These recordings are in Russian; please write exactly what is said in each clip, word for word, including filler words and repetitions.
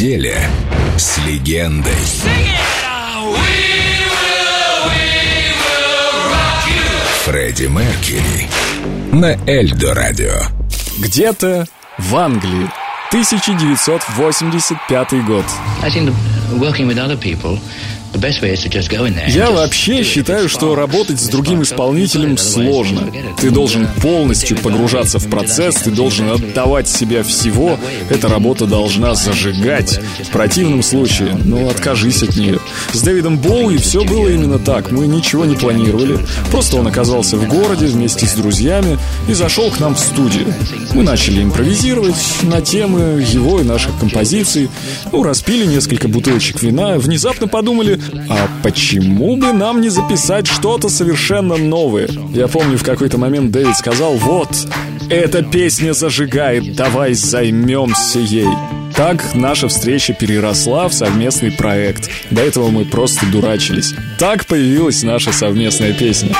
неделе с легендой. Фредди Меркьюри на Эльдо Радио. Где-то в Англии, тысяча девятьсот восемьдесят пятый год. Я вообще считаю, что работать с другим исполнителем сложно. Ты должен полностью погружаться в процесс, ты должен отдавать себя всего. Эта работа должна зажигать. В противном случае, ну, откажись от нее. С Дэвидом Боуи все было именно так. Мы ничего не планировали. Просто он оказался в городе вместе с друзьями и зашел к нам в студию. Мы начали импровизировать на темы его и наших композиций. Ну, распили несколько бутылочек вина. Внезапно подумали, а почему бы нам не записать что-то совершенно новое? Я помню, в какой-то момент Дэвид сказал: вот, эта песня зажигает, давай займемся ей. Так наша встреча переросла в совместный проект. До этого мы просто дурачились. Так появилась наша совместная песня.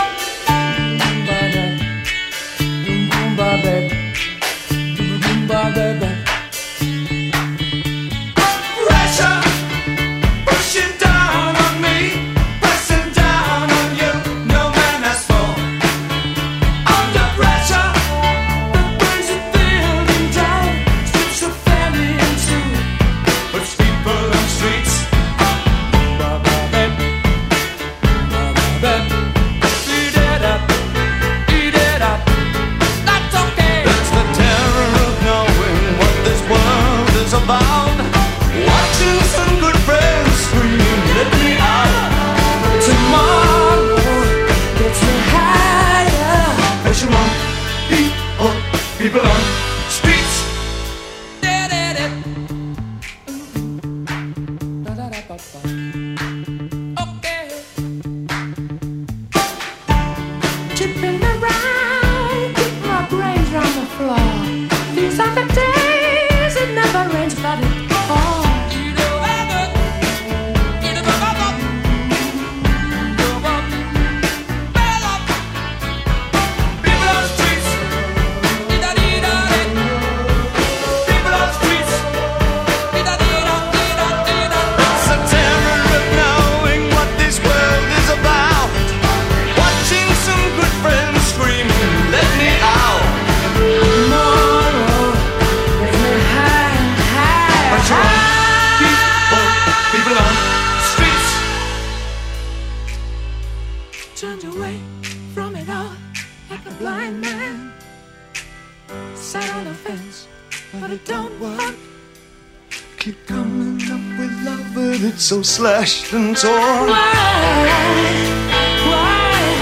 Turned away from it all like a blind man. Sat on the fence, but it don't work. Keep coming up with love, but it's so slashed and torn. Why? Why?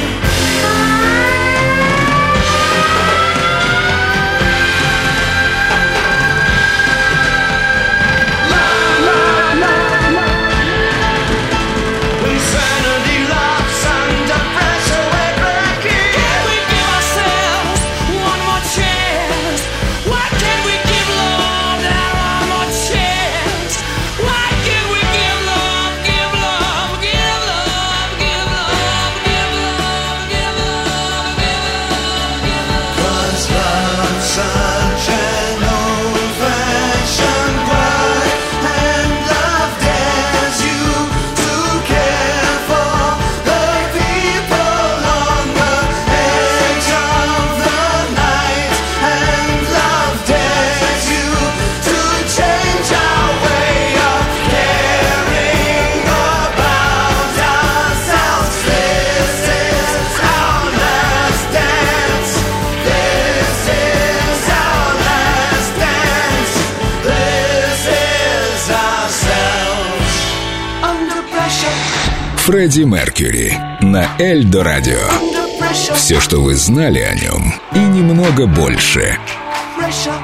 Фредди Меркьюри на Эльдо Радио. Все, что вы знали о нем, и немного больше. Pressure.